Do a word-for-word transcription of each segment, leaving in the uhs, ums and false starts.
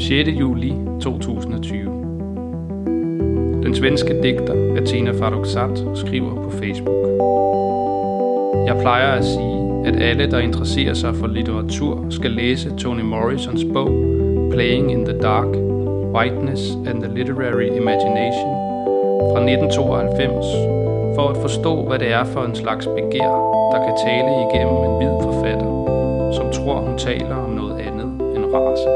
sjette juli to tusind og tyve. Den svenske digter Athena Farrokhzad skriver på Facebook: Jeg plejer at sige, at alle, der interesserer sig for litteratur, skal læse Toni Morrisons bog Playing in the Dark, Whiteness and the Literary Imagination fra nitten tooghalvfems, for at forstå, hvad det er for en slags begær, der kan tale igennem en hvid forfatter, som tror, hun taler om noget andet end race.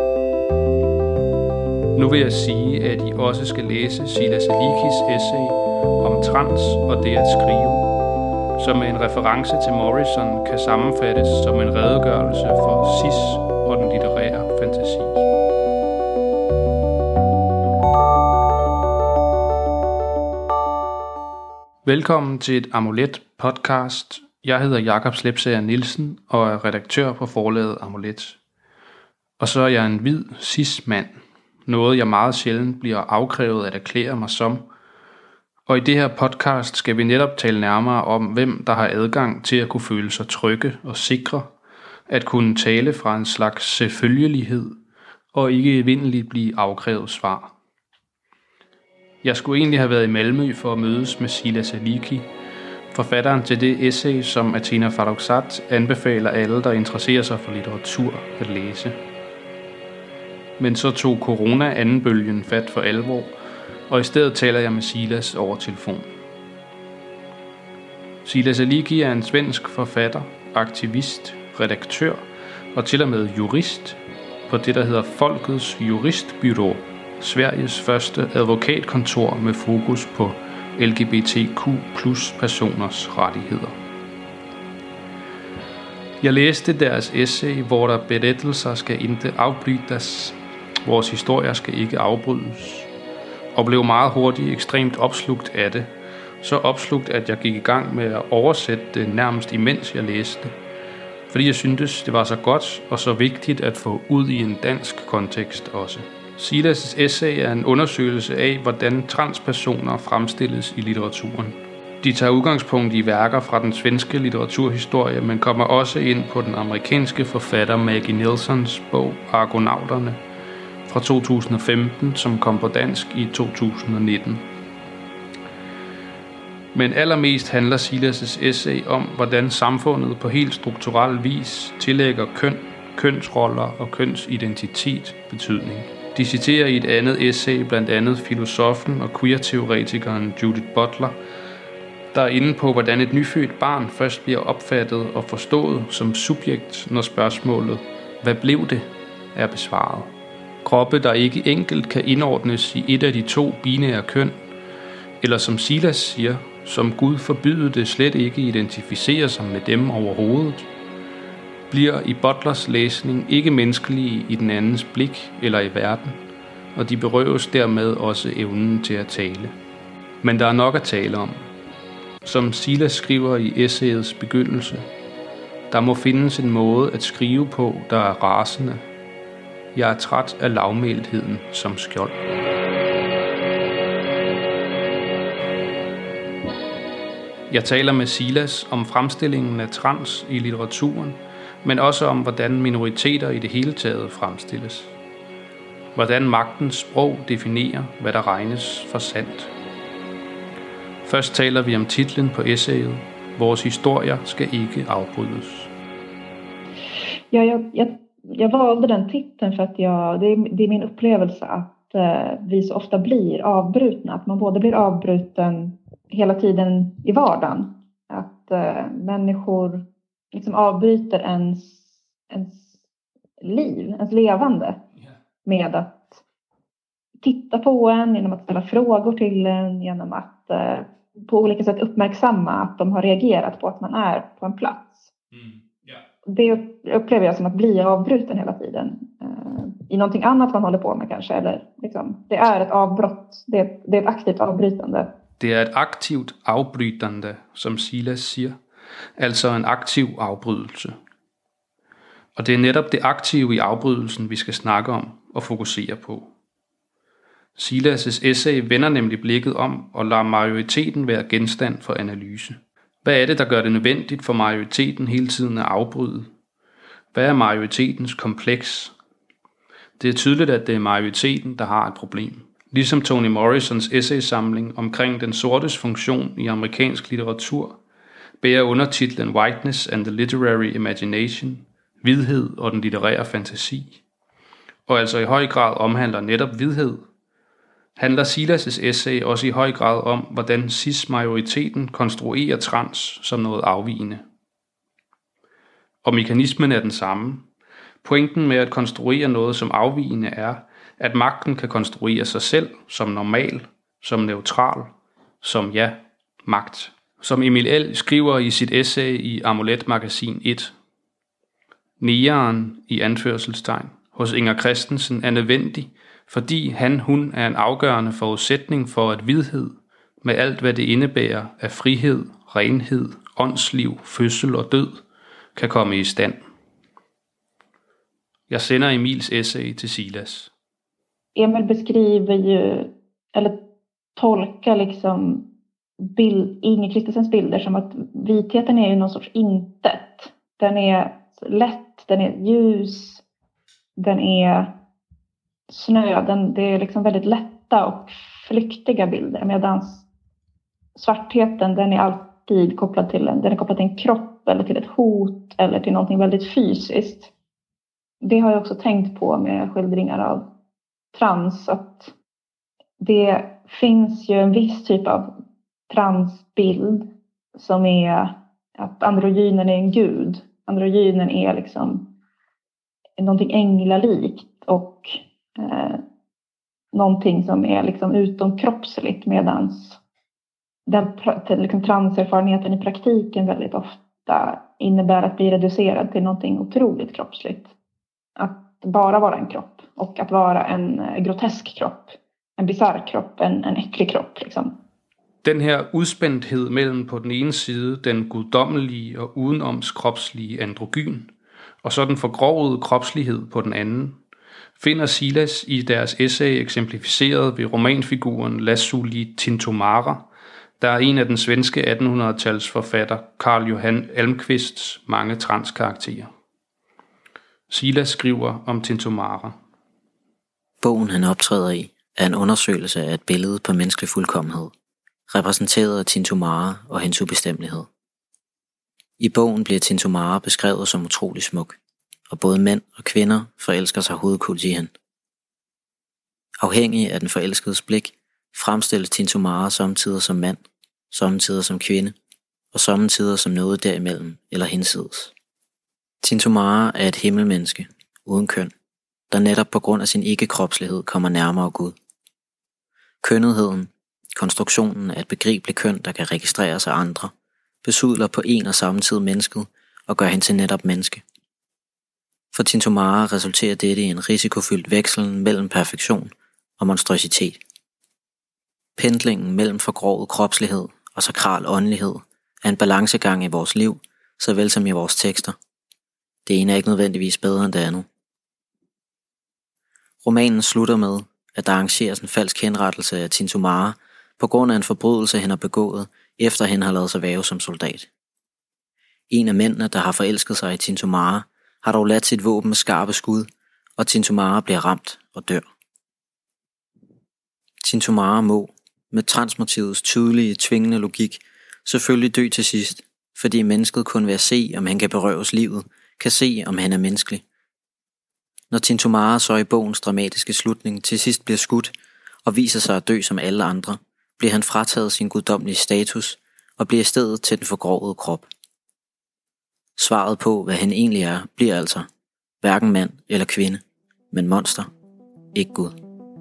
Nu vil jeg sige, at I også skal læse Sila Salikis essay om trans og det at skrive, som med en reference til Morrison kan sammenfattes som en redegørelse for cis og den litterære fantasi. Velkommen til et Amulet podcast. Jeg hedder Jakob Slepsager Nielsen og er redaktør på forlaget Amulet. Og så er jeg en hvid cis mand, noget jeg meget sjældent bliver afkrævet at erklære mig som. Og i det her podcast skal vi netop tale nærmere om, hvem der har adgang til at kunne føle sig trygge og sikre, at kunne tale fra en slags selvfølgelighed og ikke evindeligt blive afkrævet svar. Jeg skulle egentlig have været i Malmø for at mødes med Sila Saliki, forfatteren til det essay, som Athena Farrokhzad anbefaler alle, der interesserer sig for litteratur, at læse. Men så tog corona anden-bølgen fat for alvor, og i stedet taler jeg med Silas over telefon. Sila Saliki er en svensk forfatter, aktivist, redaktør og til og med jurist på det, der hedder Folkets Juristbyrå, Sveriges første advokatkontor med fokus på L G B T Q plus personers rettigheder. Jeg læste deres essay, hvor der berettelser skal ikke afbrytes, vores historier skal ikke afbrydes, og blev meget hurtigt ekstremt opslugt af det, så opslugt, at jeg gik i gang med at oversætte det nærmest imens jeg læste, fordi jeg syntes, det var så godt og så vigtigt at få ud i en dansk kontekst også. Silas' essay er en undersøgelse af, hvordan transpersoner fremstilles i litteraturen. De tager udgangspunkt i værker fra den svenske litteraturhistorie, men kommer også ind på den amerikanske forfatter Maggie Nelsons bog Argonauterne fra to tusind og femten, som kom på dansk i to tusind og nitten. Men allermest handler Silas' essay om, hvordan samfundet på helt strukturel vis tillægger køn, kønsroller og kønsidentitet betydning. De citerer i et andet essay blandt andet filosofen og queer-teoretikeren Judith Butler, der er inde på, hvordan et nyfødt barn først bliver opfattet og forstået som subjekt, når spørgsmålet, hvad blev det, er besvaret. Kroppe, der ikke enkelt kan indordnes i et af de to binære køn, eller som Silas siger, som Gud forbyder det slet ikke identificerer sig med dem overhovedet, bliver i Butlers læsning ikke menneskelige i den andens blik eller i verden, og de berøves dermed også evnen til at tale. Men der er nok at tale om. Som Silas skriver i essayets begyndelse, der må findes en måde at skrive på, der er rasende. Jeg er træt af lavmæltheden som skjold. Jeg taler med Silas om fremstillingen af trans i litteraturen, men også om, hvordan minoriteter i det hele taget fremstilles. Hvordan magtens sprog definerer, hvad der regnes for sandt. Først taler vi om titlen på essayet. Vores historier skal ikke afbrydes. Ja, jag, jag, jag valde den titeln för att jag, det, är, det är min upplevelse att eh, vi så ofta blir avbrutna. Att man både blir avbruten hela tiden i vardagen. Att eh, människor liksom avbryter ens, ens liv, ens levande med att titta på en, genom att ställa frågor till en, genom att eh, på olika sätt uppmärksamma att de har reagerat på att man är på en plats. Mm. Yeah. Det upplever jag som att bli avbruten hela tiden eh, i någonting annat man håller på med kanske, eller liksom, det är ett avbrott, det är, det är ett aktivt avbrytande. Det er et aktivt afbrytende, som Silas siger. Altså en aktiv afbrydelse. Og det er netop det aktive i afbrydelsen, vi skal snakke om og fokusere på. Silas' essay vender nemlig blikket om og lader majoriteten være genstand for analyse. Hvad er det, der gør det nødvendigt for majoriteten hele tiden at afbryde? Hvad er majoritetens kompleks? Det er tydeligt, at det er majoriteten, der har et problem. Ligesom Toni Morrisons essaysamling omkring den sortes funktion i amerikansk litteratur, bærer undertitlen Whiteness and the Literary Imagination, hvidhed og den litterære fantasi, og altså i høj grad omhandler netop hvidhed, handler Silas' essay også i høj grad om, hvordan cis-majoriteten konstruerer trans som noget afvigende. Og mekanismen er den samme. Pointen med at konstruere noget som afvigende er, at magten kan konstruere sig selv som normal, som neutral, som ja, magt. Som Emil L. skriver i sit essay i Amulet Magasin et. Negeren i anførselstegn hos Inger Christensen er nødvendig, fordi han, hun er en afgørende forudsætning for, at hvidhed, med alt hvad det indebærer af frihed, renhed, åndsliv, fødsel og død, kan komme i stand. Jeg sender Emils essay til Silas. Emil beskriver ju, eller tolkar liksom bild, Inger Christensens bilder som att vitheten är ju någon sorts intet. Den är lätt, den är ljus, den är snö, den, det är liksom väldigt lätta och flyktiga bilder, medan svartheten, den är alltid kopplad till en, den är kopplad till en kropp eller till ett hot eller till någonting väldigt fysiskt. Det har jag också tänkt på med skildringar av trans, att det finns ju en viss typ av transbild som är att androgynen är en gud. Androgynen är liksom någonting änglalikt och eh, någonting som är liksom utomkroppsligt, medans den liksom, transerfarenheten i praktiken väldigt ofta innebär att bli reducerad till någonting otroligt kroppsligt. Att bara vara en kropp och att vara en grotesk kropp, en bizarr kropp, en, en äcklig kropp liksom. Den her udspændthed mellem på den ene side den guddommelige og udenomskropslige androgyn, og så den forgrovede kropslighed på den anden, finder Silas i deres essay eksemplificeret ved romanfiguren Lassuli Tintomara, der er en af den svenske attenhundredetals forfatter Carl Johan Almqvists mange transkarakterer. Silas skriver om Tintomara. Bogen han optræder i er en undersøgelse af et billede på menneskelig fuldkommenhed, repræsenteret af Tintomara og hendes ubestemmelighed. I bogen bliver Tintomara beskrevet som utrolig smuk, og både mænd og kvinder forelsker sig hovedkult i hende. Afhængig af den forelskedes blik, fremstilles Tintomara sommetider som mand, sommetider som kvinde, og sommetider som noget derimellem eller hinsides. Tintomara er et himmelmenneske, uden køn, der netop på grund af sin ikke-kropslighed kommer nærmere Gud. Kønnetheden, konstruktionen af et begribeligt køn, der kan registreres af andre, besudler på en og samme tid mennesket og gør hende til netop menneske. For Tintomara resulterer dette i en risikofyldt vekslen mellem perfektion og monstrøsitet. Pendlingen mellem forgrovet kropslighed og sakral åndelighed er en balancegang i vores liv, såvel som i vores tekster. Det ene er ikke nødvendigvis bedre end det andet. Romanen slutter med, at der arrangeres en falsk henrettelse af Tintomara på grund af en forbrydelse, han har begået, efter han har ladet sig væve som soldat. En af mændene, der har forelsket sig i Tintomara, har dog ladt sit våben med skarpe skud, og Tintomara bliver ramt og dør. Tintomara må, med transmotivets tydelige, tvingende logik, selvfølgelig dø til sidst, fordi mennesket kun ved at se, om han kan berøves livet, kan se, om han er menneskelig. Når Tintomara så i bogens dramatiske slutning til sidst bliver skudt og viser sig at dø som alle andre, bliver han frataget sin guddommelige status og bliver i stedet til den forgrovede krop. Svaret på, hvad han egentlig er, bliver altså hverken mand eller kvinde, men monster, ikke Gud.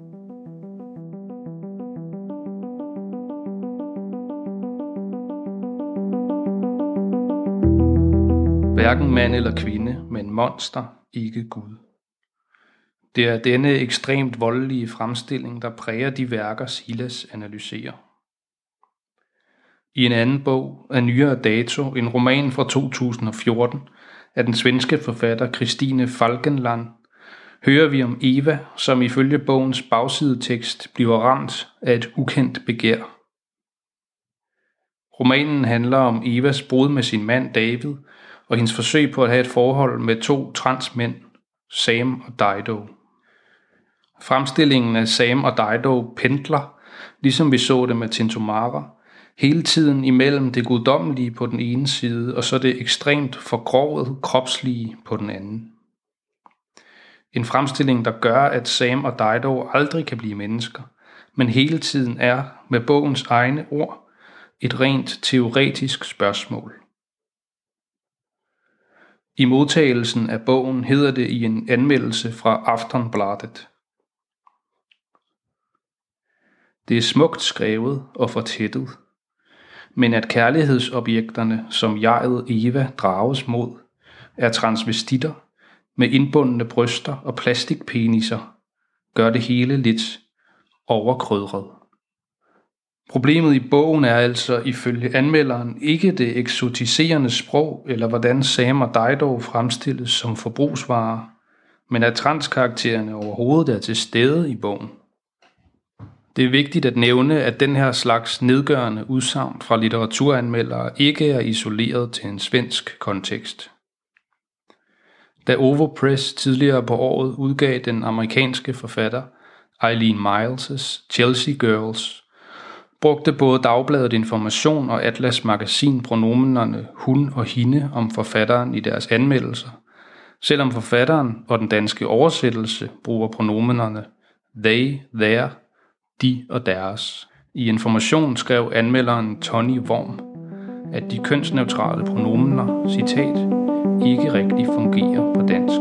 Hverken mand eller kvinde, men monster, ikke Gud. Det er denne ekstremt voldelige fremstilling, der præger de værker, Silas analyserer. I en anden bog af nyere dato, en roman fra to tusind og fjorten, af den svenske forfatter Christine Falkenland, hører vi om Eva, som ifølge bogens bagsidetekst bliver ramt af et ukendt begær. Romanen handler om Evas brud med sin mand David, og hendes forsøg på at have et forhold med to transmænd, Sam og Dido. Fremstillingen af Sam og Dido pendler, ligesom vi så det med Tintomara, hele tiden imellem det guddommelige på den ene side, og så det ekstremt forgrovet kropslige på den anden. En fremstilling, der gør, at Sam og Dido aldrig kan blive mennesker, men hele tiden er, med bogens egne ord, et rent teoretisk spørgsmål. I modtagelsen af bogen hedder det i en anmeldelse fra Aftonbladet: Det er smukt skrevet og fortættet, men at kærlighedsobjekterne, som jeget Eva drages mod, er transvestitter med indbundne bryster og plastikpeniser, gør det hele lidt overkrydret. Problemet i bogen er altså ifølge anmelderen ikke det eksotiserende sprog eller hvordan Sam og Dido fremstilles som forbrugsvarer, men at transkaraktererne overhovedet er til stede i bogen. Det er vigtigt at nævne, at den her slags nedgørende udsagn fra litteraturanmeldere ikke er isoleret til en svensk kontekst. Da Ovo Press tidligere på året udgav den amerikanske forfatter Eileen Miles' Chelsea Girls, brugte både Dagbladet Information og Atlas Magasin pronomenerne hun og hende om forfatteren i deres anmeldelser, selvom forfatteren og den danske oversættelse bruger pronomenerne they, their, de og deres. I Information skrev anmelderen Tony Worm, at de kønsneutrale pronomener, citat, ikke rigtig fungerer på dansk.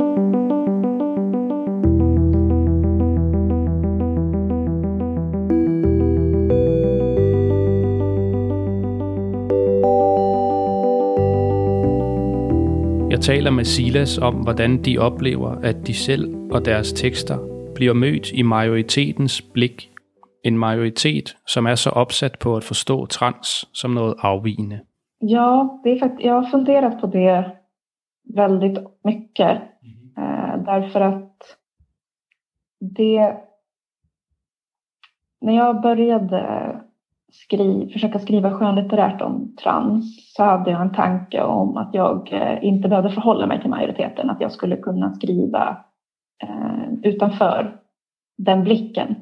Jeg taler med Silas om, hvordan de oplever, at de selv og deres tekster bliver mødt i majoritetens blik. En majoritet, som är så opsat på att förstå trans som något avvigende. Ja, det är faktiskt, jag har funderat på det väldigt mycket. Mm. Eh, därför att det... När jag började skri, försöka skriva skönlitterärt om trans så hade jag en tanke om att jag eh, inte behövde förhålla mig till majoriteten. Att jag skulle kunna skriva eh, utanför den blicken.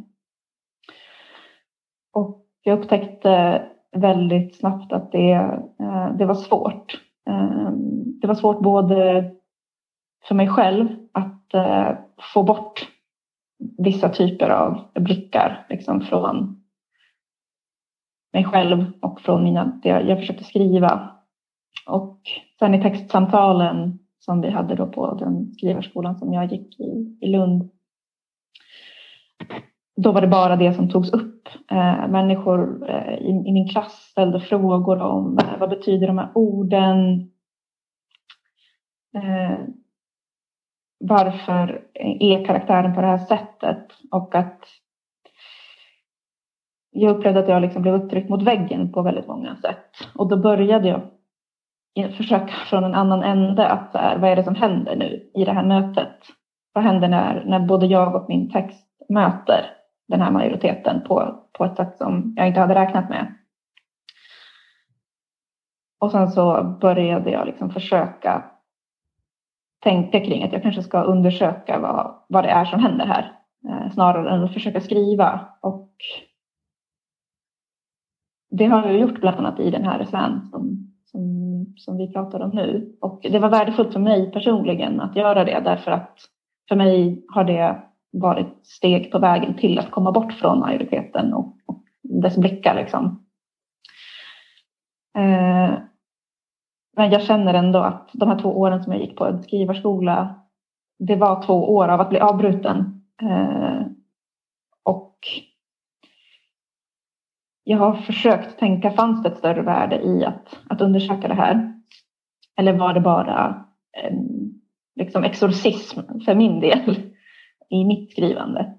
Och jag upptäckte väldigt snabbt att det, eh, det var svårt. Eh, det var svårt både för mig själv att eh, få bort vissa typer av blickar liksom från mig själv och från mina, det jag försökte skriva. Och sen i textsamtalen som vi hade då på den skrivarskolan som jag gick i, i Lund, då var det bara det som togs upp. Eh, människor eh, i, i min klass ställde frågor om eh, vad betyder de här orden? Eh, varför är karaktären på det här sättet? Och att jag upplevde att jag liksom blev upptryckt mot väggen på väldigt många sätt. Och då började jag försöka från en annan ände att så här, vad är det som händer nu i det här mötet? Vad händer när, när både jag och min text möter den här majoriteten på, på ett sätt som jag inte hade räknat med. Och sen så började jag liksom försöka tänka kring att jag kanske ska undersöka vad, vad det är som händer här. Eh, snarare än att försöka skriva. Och det har jag gjort bland annat i den här essän som, som, som vi pratar om nu. Och det var värdefullt för mig personligen att göra det. Därför att för mig har det varit steg på vägen till att komma bort från majoriteten och, och dess blickar liksom. Eh, men jag känner ändå att de här två åren som jag gick på en skrivarskola, det var två år av att bli avbruten. Eh, och jag har försökt tänka, fanns det ett större värde i att, att undersöka det här? Eller var det bara en liksom exorcism för min del i mitt skrivande?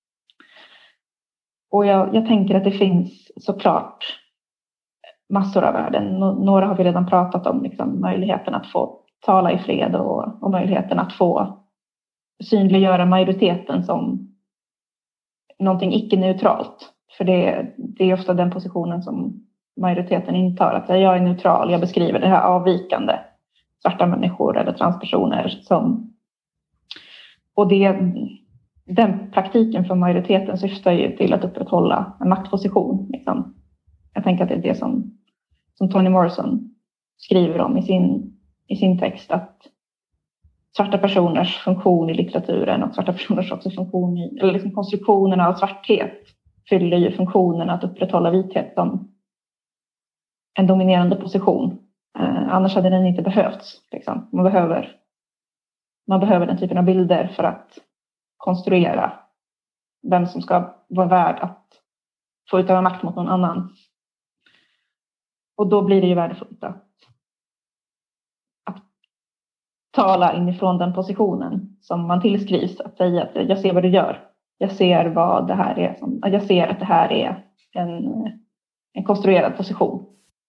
Och jag, jag tänker att det finns såklart massor av värden. Några har vi redan pratat om, liksom möjligheten att få tala i fred och, och möjligheten att få synliggöra majoriteten som någonting icke-neutralt. För det, det är ofta den positionen som majoriteten intar. Att jag är neutral, jag beskriver det här avvikande. Svarta människor eller transpersoner som... Och det, den praktiken för majoriteten syftar ju till att upprätthålla en maktposition. Liksom. Jag tänker att det är det som, som Toni Morrison skriver om i sin, i sin text, att svarta personers funktion i litteraturen och svarta personers också funktion i, eller liksom konstruktionerna av svarthet fyller ju funktionen att upprätthålla vithet som en dominerande position. Eh, annars hade den inte behövts. Liksom. Man behöver, man behöver den typen av bilder för att konstruera vem som ska vara värd att få utöva makt mot någon annan. Och då blir det ju värdefullt att, att tala inifrån den positionen som man tillskrivs. Att säga att jag ser vad du gör. Jag ser vad det här är. Som, jag ser att det här är en, en konstruerad position.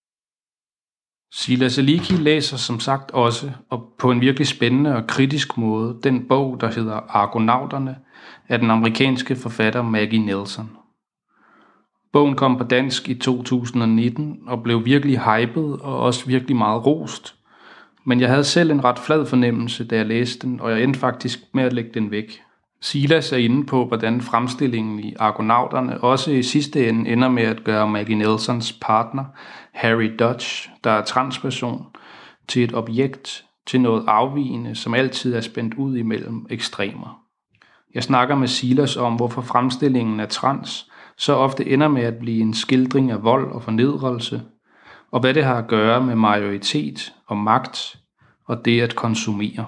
Silas Aliki læser som sagt også, og på en virkelig spændende og kritisk måde, den bog, der hedder Argonauterne, af den amerikanske forfatter Maggie Nelson. Bogen kom på dansk i to tusind nitten og blev virkelig hypet og også virkelig meget rost. Men jeg havde selv en ret flad fornemmelse, da jeg læste den, og jeg endte faktisk med at lægge den væk. Silas er inde på, hvordan fremstillingen i Argonauterne også i sidste ende ender med at gøre Maggie Nelsons partner, Harry Dodge, der er transperson, til et objekt, til noget afvigende, som altid er spændt ud imellem ekstremer. Jeg snakker med Silas om, hvorfor fremstillingen af trans så ofte ender med at blive en skildring af vold og fornedrelse, og hvad det har at gøre med majoritet og magt, og det at konsumere.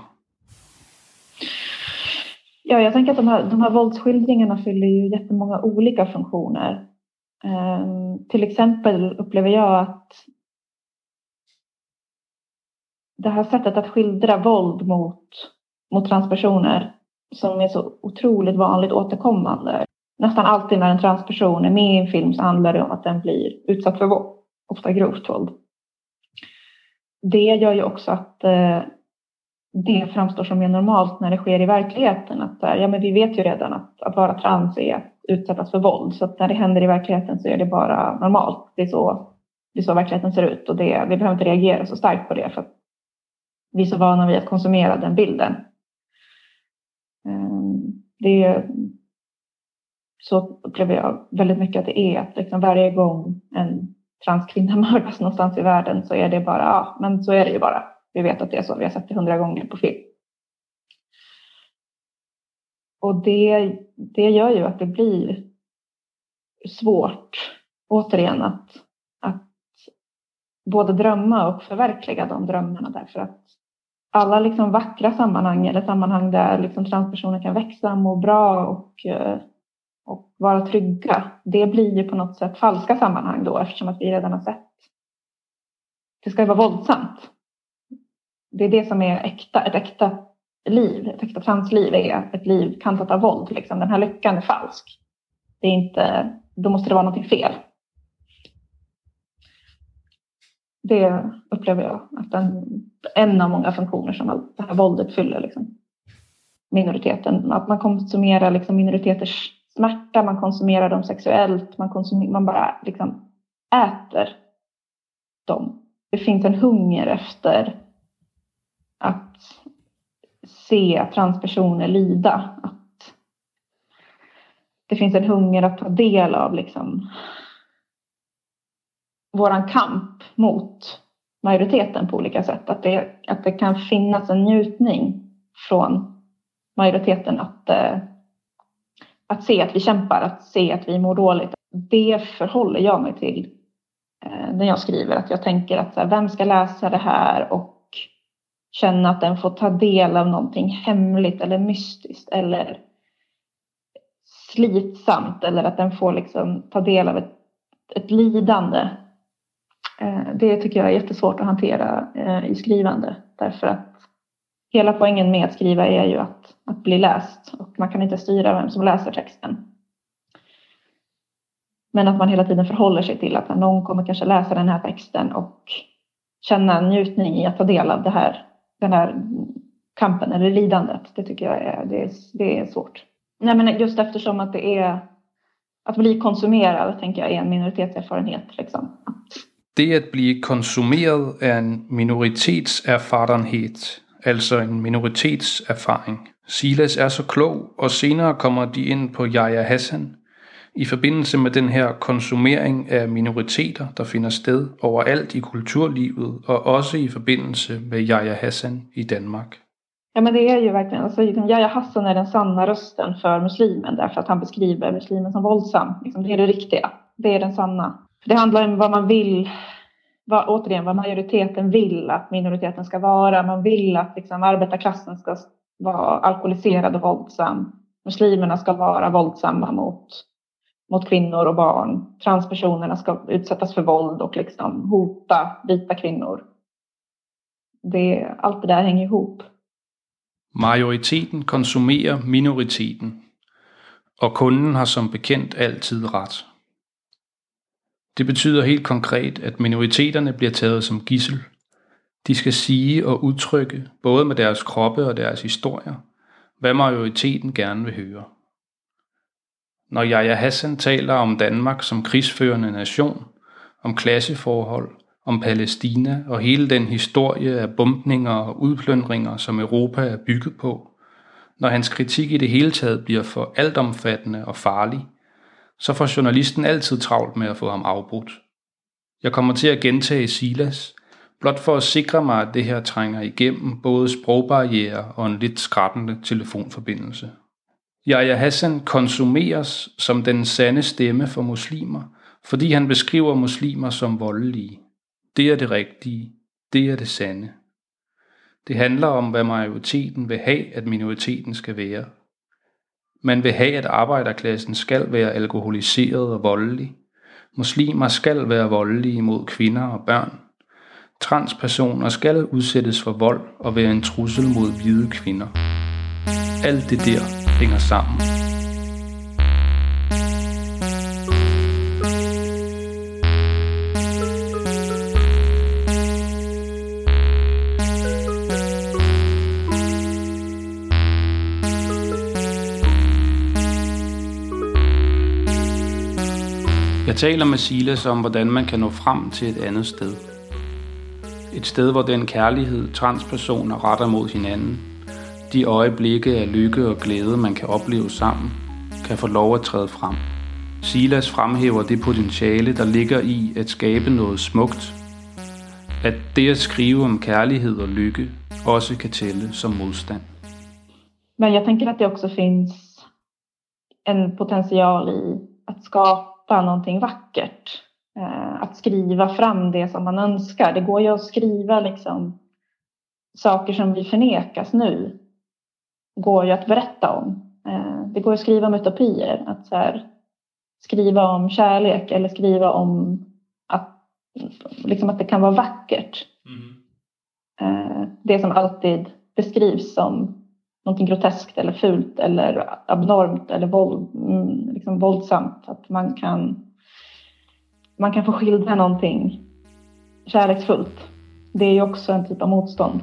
Ja, jag tänker att de här, de här våldsskildringarna fyller ju jättemånga olika funktioner. Um, till exempel upplever jag att det här sättet att skildra våld mot, mot transpersoner som är så otroligt vanligt återkommande. Nästan alltid när en transperson är med i en film så handlar det om att den blir utsatt för våld, ofta grovt våld. Det gör ju också att uh, det framstår som mer normalt när det sker i verkligheten. Att ja, men vi vet ju redan att, att vara trans är att utsättas för våld. Så att när det händer i verkligheten så är det bara normalt. Det är så, det är så verkligheten ser ut. Och det, vi behöver inte reagera så starkt på det. För att vi är så vana vid att konsumera den bilden. Det är, så upplever jag väldigt mycket att det är. Att liksom varje gång en transkvinna mördas någonstans i världen så är det bara, ja men så är det ju bara. Vi vet att det är så. Vi har sett det hundra gånger på film. Och det, det gör ju att det blir svårt återigen att, att både drömma och förverkliga de drömmarna. Därför att alla liksom vackra sammanhang eller sammanhang där liksom transpersoner kan växa, må bra och, och vara trygga. Det blir ju på något sätt falska sammanhang då eftersom att vi redan har sett. Det ska ju vara våldsamt. Det är det som är äkta, ett äkta liv, ett äkta transliv är ett liv kantat av våld. Liksom. Den här lyckan är falsk. Det är inte, då måste det vara något fel. Det upplever jag att den, en av många funktioner som det här våldet fyller liksom. Minoriteten. Att man konsumerar liksom minoriteters smärta, man konsumerar dem sexuellt, man, konsumerar, man bara liksom äter dem. Det finns en hunger efter att se transpersoner lida. Att det finns en hunger att ta del av liksom våran kamp mot majoriteten på olika sätt. Att det, att det kan finnas en njutning från majoriteten att, att se att vi kämpar, att se att vi mår dåligt. Det förhåller jag mig till när jag skriver. Att jag tänker att så här, vem ska läsa det här och känna att den får ta del av någonting hemligt eller mystiskt eller slitsamt. Eller att den får liksom ta del av ett, ett lidande. Det tycker jag är jättesvårt att hantera i skrivande. Därför att hela poängen med att skriva är ju att, att bli läst. Och man kan inte styra vem som läser texten. Men att man hela tiden förhåller sig till att någon kommer kanske läsa den här texten och känna en njutning i att ta del av det här, den här kampen eller lidandet. Det tycker jag är, det är, det är svårt. Nej, men just eftersom att det är att bli konsumerad, tänker jag, är en minoritetserfarenhet. Liksom. Det at blive konsumeret er en minoritetserfarenhed, altså en minoritetserfaring. Silas er så klog, og senere kommer de ind på Yahya Hassan i forbindelse med den her konsumering af minoriteter, der finder sted overalt i kulturlivet, og også i forbindelse med Yahya Hassan i Danmark. Ja, men det är ju verkligen, alltså, Yahya Hassan är den sanna rösten för muslimen, därför att han beskriver muslimen som våldsam. Liksom, det är det riktiga, det är den sanna. Det handlar om vad man vill, vad, återigen vad majoriteten vill att minoriteten ska vara. Man vill att liksom, arbetarklassen ska vara alkoholiserad och våldsam. Muslimerna ska vara våldsamma mot, mot kvinnor och barn. Transpersonerna ska utsättas för våld och liksom, hota vita kvinnor. Det, allt det där hänger ihop. Majoriteten konsumerer minoriteten, og kunden har som bekendt altid ret. Det betyder helt konkret, at minoriteterne bliver taget som gidsel. De skal sige og udtrykke, både med deres kroppe og deres historier, hvad majoriteten gerne vil høre. Når Yahya Hassan taler om Danmark som krigsførende nation, om klasseforhold, om Palæstina og hele den historie af bombninger og udplyndringer, som Europa er bygget på, når hans kritik i det hele taget bliver for altomfattende og farlig, så får journalisten altid travlt med at få ham afbrudt. Jeg kommer til at gentage Silas, blot for at sikre mig, at det her trænger igennem både sprogbarrierer og en lidt skrattende telefonforbindelse. Yahya Hassan konsumeres som den sande stemme for muslimer, fordi han beskriver muslimer som voldelige. Det er det rigtige. Det er det sande. Det handler om, hvad majoriteten vil have, at minoriteten skal være. Man vil have, at arbejderklassen skal være alkoholiseret og voldelig. Muslimer skal være voldelige mod kvinder og børn. Transpersoner skal udsættes for vold og være en trussel mod hvide kvinder. Alt det der hænger sammen. Jeg taler med Silas om, hvordan man kan nå frem til et andet sted. Et sted, hvor den kærlighed, transpersoner retter mod hinanden, de øjeblikke af lykke og glæde, man kan opleve sammen, kan få lov at træde frem. Silas fremhæver det potentiale, der ligger i at skabe noget smukt. At det at skrive om kærlighed og lykke også kan tælle som modstand. Men jag tänker att det också finns en potential i att skapa någonting vackert. Eh, att skriva fram det som man önskar. Det går ju att skriva liksom saker som vi förnekas nu. Går ju att berätta om. Eh, det går att skriva om utopier. Att så här, skriva om kärlek eller skriva om att, liksom att det kan vara vackert. Mm. Eh, det som alltid beskrivs som någonting groteskt eller fult eller abnormt eller våld, liksom våldsamt. Att man kan, man kan få skildra någonting kärleksfullt. Det är ju också en typ av motstånd.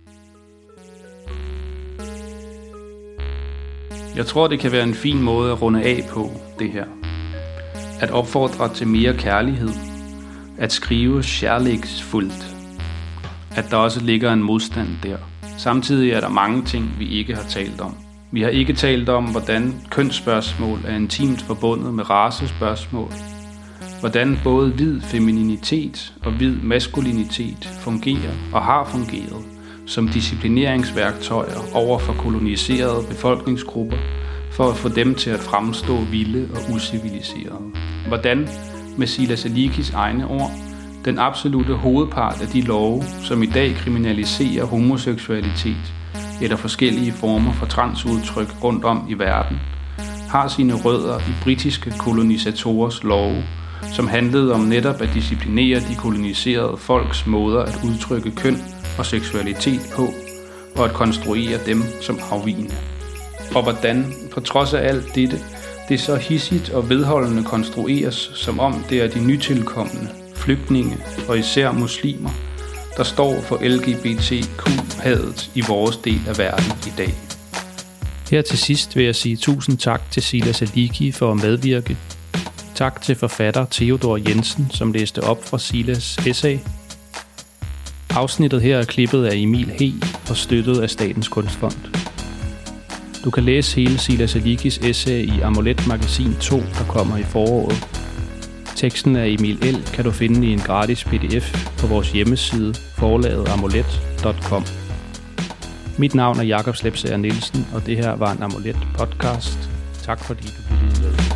Jeg tror, det kan være en fin måde at runde af på, det her. At opfordre til mere kærlighed. At skrive kærlighedsfuldt. At der også ligger en modstand der. Samtidig er der mange ting, vi ikke har talt om. Vi har ikke talt om, hvordan kønsspørgsmål er intimt forbundet med racespørgsmål. Hvordan både hvid femininitet og hvid maskulinitet fungerer og har fungeret som disciplineringsværktøjer over for koloniserede befolkningsgrupper, for at få dem til at fremstå vilde og usiviliserede. Hvordan, med Silas Alikis egne ord, den absolute hovedpart af de love, som i dag kriminaliserer homoseksualitet eller forskellige former for transudtryk rundt om i verden, har sine rødder i britiske kolonisatorers love, som handlede om netop at disciplinere de koloniserede folks måder at udtrykke køn og seksualitet på, og at konstruere dem som afvigende. Og hvordan, på trods af alt dette, det så hissigt og vedholdende konstrueres, som om det er de nytilkommende, flygtninge og især muslimer, der står for L G B T Q-hadet i vores del af verden i dag. Her til sidst vil jeg sige tusind tak til Silas Aliki for at medvirke. Tak til forfatter Theodor Jensen, som læste op fra Silas essay. Afsnittet her er klippet af Emil He og støttet af Statens Kunstfond. Du kan læse hele Silas Alikis essay i Amulet Magasin to, der kommer i foråret. Teksten af Emil L. kan du finde i en gratis P D F på vores hjemmeside forlaget amulet punktum com. Mit navn er Jakob Slepsager Nielsen, og det her var en Amulet podcast. Tak fordi du lyttede med.